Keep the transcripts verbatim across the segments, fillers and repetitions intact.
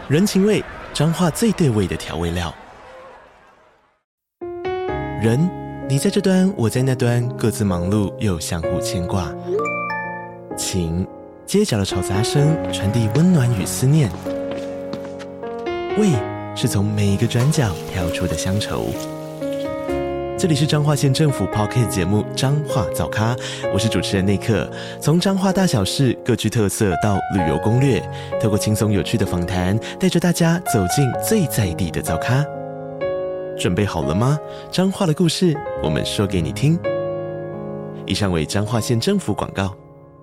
人情味，彰化最對味的調味料。人，你在這端，我在那端，各自忙碌又相互牽掛。情，街角的吵雜聲傳遞溫暖與思念。味，是從每一個轉角跳出的鄉愁。這裡是彰化縣政府 Podcast 節目《彰化早咖》，我是主持人內克。從彰化大小事各具特色到旅遊攻略，透過輕鬆有趣的訪談，帶着大家走進最在地的早咖。準備好了嗎？彰化的故事，我們說給你聽。以上為彰化縣政府廣告。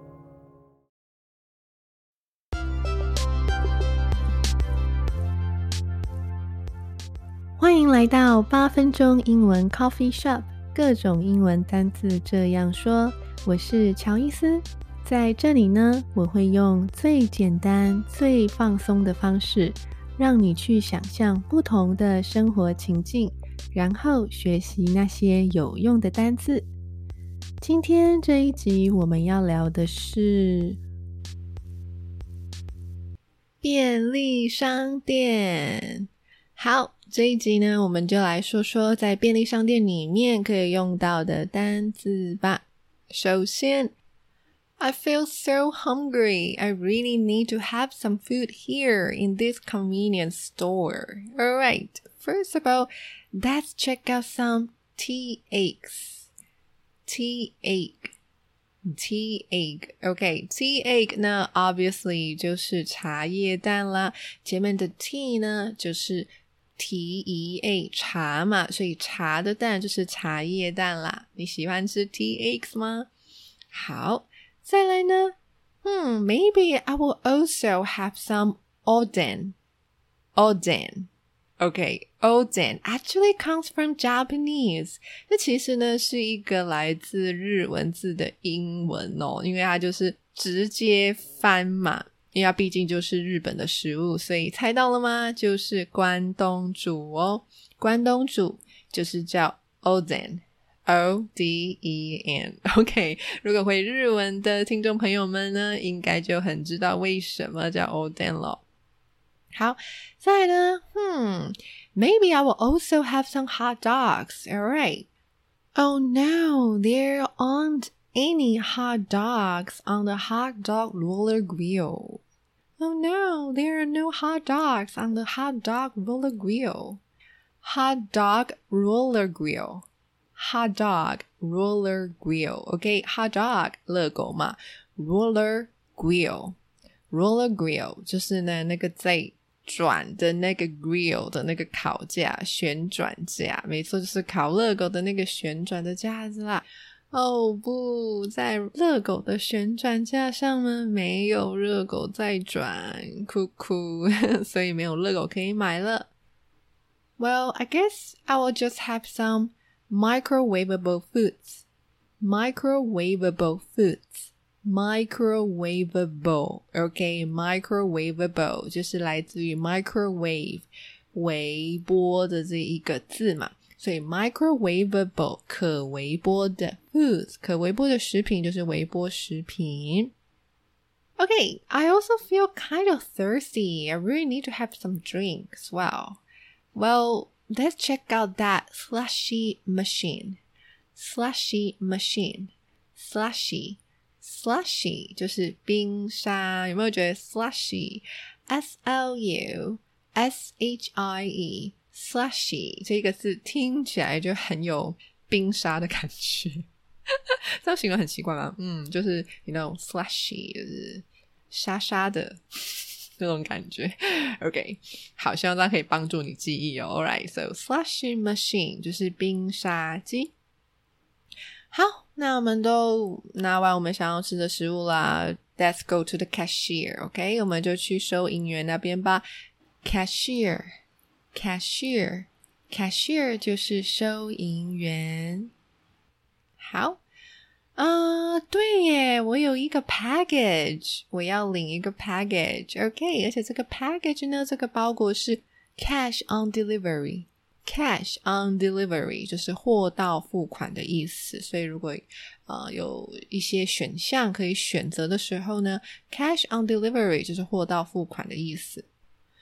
歡迎來到八分鐘英文 Coffee Shop， 各種英文單字這樣說。我是喬伊斯，在這裡呢，我會用最簡單、最放鬆的方式，讓你去想象不同的生活情境，然後學習那些有用的單字。今天這一集我們要聊的是便利商店。好，這一集呢，我們就來說說在便利商店裡面可以用到的單字吧。首先 I feel so hungry. I really need to have some food here in this convenience store. Alright, first of all, let's check out some tea eggs. Tea egg. Tea egg. Okay, tea egg 呢 obviously 就是茶葉蛋啦，前面的 tea 呢就是提一 a 茶嘛，所以茶的蛋就是茶葉蛋啦。你喜歡吃 tea eggs 嗎？好，再來呢，嗯 maybe I will also have some oden. Oden. Okay, oden actually comes from Japanese. 這其實呢是一個來自日文字的英文哦，因為它就是直接翻嘛。因為它畢竟就是日本的食物，所以猜到了嗎？就是關東煮哦。關東煮就是叫 Oden, O D E N. OK, 如果會日文的聽眾朋友們呢，應該就很知道為什麼叫 Oden 了。好，再來呢，hmm, maybe I will also have some hot dogs. Alright. Oh no, there aren't any hot dogs on the hot dog roller grill. Oh no, there are no hot dogs on the hot dog roller grill. Hot dog roller grill. Hot dog roller grill. Okay, hot dog 熱狗嘛 roller grill. Roller grill 就是呢那個在轉的那個 grill 的那個烤架，旋轉架，沒錯，就是烤熱狗的那個旋轉的架子啦。哦不，在熱狗的旋轉架上呢，沒有熱狗在轉，哭哭，所以沒有熱狗可以買了。Well, I guess I will just have some microwavable foods. Microwavable foods. Microwavable. Okay, microwavable 就是來自於 microwave 微波的這一個字嘛。所以 microwavable 可微波的 foods 可微波的食品就是微波食品。Okay, I also feel kind of thirsty. I really need to have some drink as well. Well, let's check out that slushy machine. Slushy machine. Slushy. Slushy 就是冰沙。有沒有覺得 slushy? S L U S H I E Slushy 這個字聽起來就很有冰沙的感覺這樣形容很奇怪嗎？嗯，就是 you know slushy 就是沙沙的那種感覺。 OK, 好，希望大家可以幫助你記憶哦。 Alright, so slushy machine 就是冰沙機。好，那我們都拿完我們想要吃的食物啦， Let's go to the cashier. OK, 我們就去收銀員那邊吧。 Cashier Cashier, cashier 就是收銀員。好，啊、呃，對耶，我有一個 package， 我要領一個 package。OK， 而且這個 package 呢，這個包裹是 cash on delivery。Cash on delivery 就是貨到付款的意思，所以如果呃有一些選項可以選擇的時候呢， cash on delivery 就是貨到付款的意思。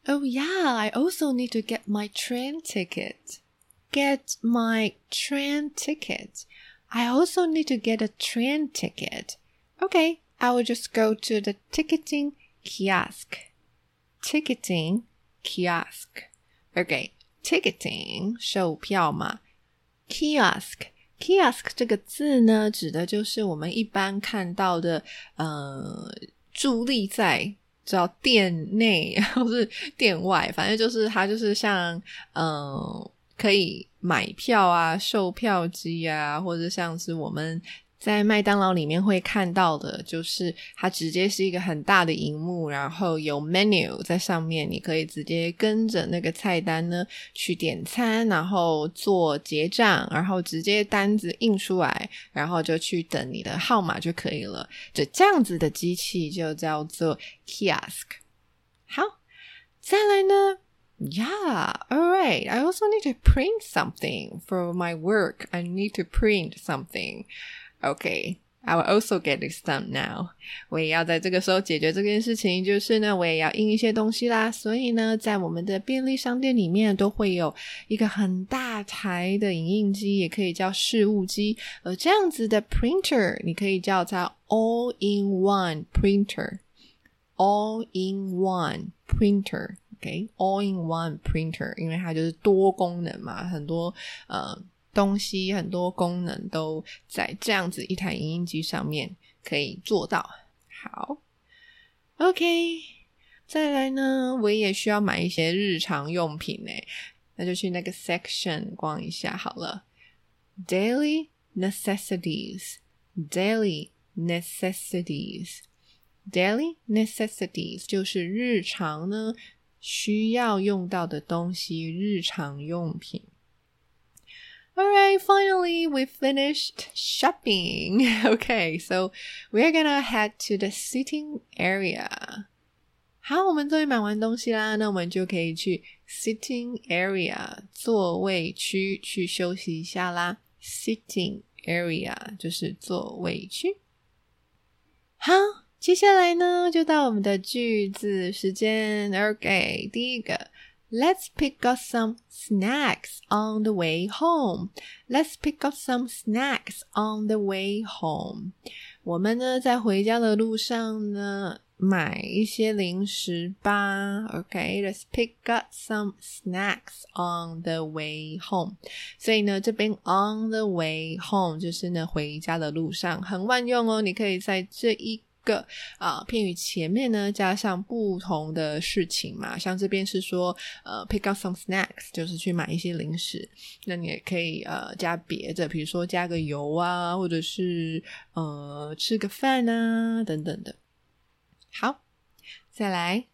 Oh yeah, I also need to get my train ticket. Get my train ticket. I also need to get a train ticket. Okay, I will just go to the ticketing kiosk. Ticketing kiosk. Okay, ticketing 售票嘛。Kiosk Kiosk 這個字呢，指的就是我們一般看到的呃，佇立在知道店內或是店外，反正就是它就是像呃，可以買票啊，售票機啊，或者像是我們在麥當勞裡面會看到的，就是它直接是一個很大的螢幕，然後有 menu 在上面，你可以直接跟着那個菜單呢去點餐，然後做結賬，然後直接單子印出來，然後就去等你的號碼就可以了。就這樣子的機器就叫做 kiosk。 好，再來呢，Yeah, alright. I also need to print something for my work. I need to print something.Okay, I will also get this done now. 我也要在這個時候解決這件事情，就是呢，我也要印一些東西啦。所以呢，在我們的便利商店裡面都會有一個很大台的影印機，也可以叫事務機。而這樣子的 printer， 你可以叫它 all-in-one printer. All-in-one printer.Okay, all-in-one printer. 因為它就是多功能嘛，很多呃。東西很多功能都在這樣子一台影印機上面可以做到。好 OK， 再來呢，我也需要買一些日常用品耶，那就去那個 section 逛一下好了。 Daily necessities Daily necessities Daily necessities 就是日常呢需要用到的東西，日常用品。Alright, finally we finished shopping. Okay, so we're gonna head to the sitting area. 好，我們終於買完東西啦，那我們就可以去 sitting area 座位區去休息一下啦。Sitting area 就是座位區。好，接下來呢就到我們的句子時間。Okay, 第一個，Let's pick up some snacks on the way home. Let's pick up some snacks on the way home. 我們呢，在回家的路上呢，買一些零食吧。Okay, let's pick up some snacks on the way home. 所以呢，這邊 on the way home 就是呢，回家的路上，很萬用哦。你可以在這一個啊、呃、片語前面呢加上不同的事情嘛，像這邊是說呃 pick up some snacks 就是去買一些零食，那你也可以呃加別的，比如說加個油啊，或者是呃吃個飯啊等等的。好，再來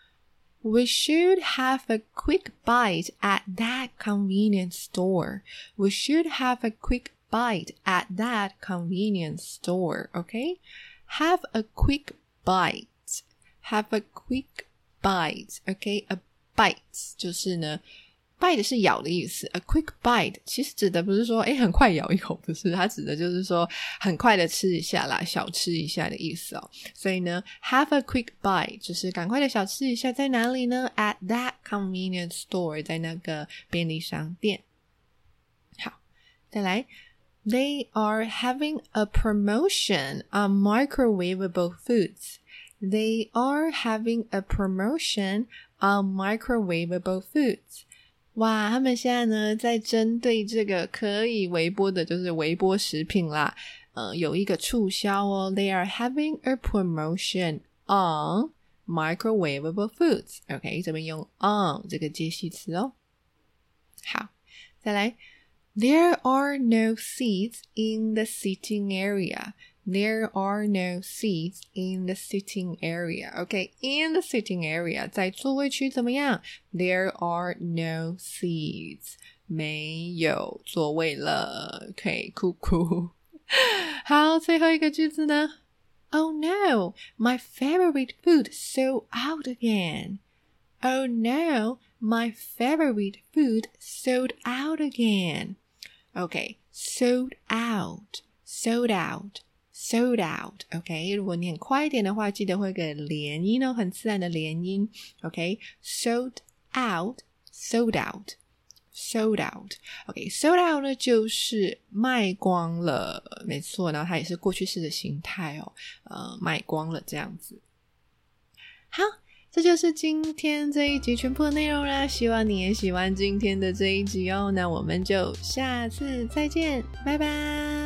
We should have a quick bite at that convenience store. We should have a quick bite at that convenience store. Okay?Have a quick bite. Have a quick bite. Okay, a bite 就是呢 bite 是咬的意思。A quick bite 其實指的不是說誒很快咬一口，不是，它指的就是說很快的吃一下啦，小吃一下的意思哦。所以呢 have a quick bite 就是趕快的小吃一下，在哪裡呢？ At that convenience store 在那個便利商店。好，再來They are having a promotion on microwavable foods. They are having a promotion on microwavable foods. 哇，他們現在呢在針對這個可以微波的，就是微波食品啦，呃，有一個促銷哦。They are having a promotion on microwavable foods. OK, 這邊用 on 這個介系詞哦。好，再來。There are no seats in the sitting area. There are no seats in the sitting area. Okay, in the sitting area. 在座位區怎麼樣？ There are no seats. 沒有座位了。Okay, 酷酷。好，最後一個句子呢？ Oh no, my favorite food sold out again. Oh no, my favorite food sold out again.Okay, sold out, sold out, sold out。OK， 如果你很快一點的話，記得會給連音哦，很自然的連音。OK，sold out，sold out，sold out。OK，sold out 呢就是賣光了，沒錯，然後它也是過去式的形態哦，呃，賣光了這樣子。好。這就是今天這一集全部的內容啦，希望你也喜歡今天的這一集哦。那我們就下次再見，拜拜。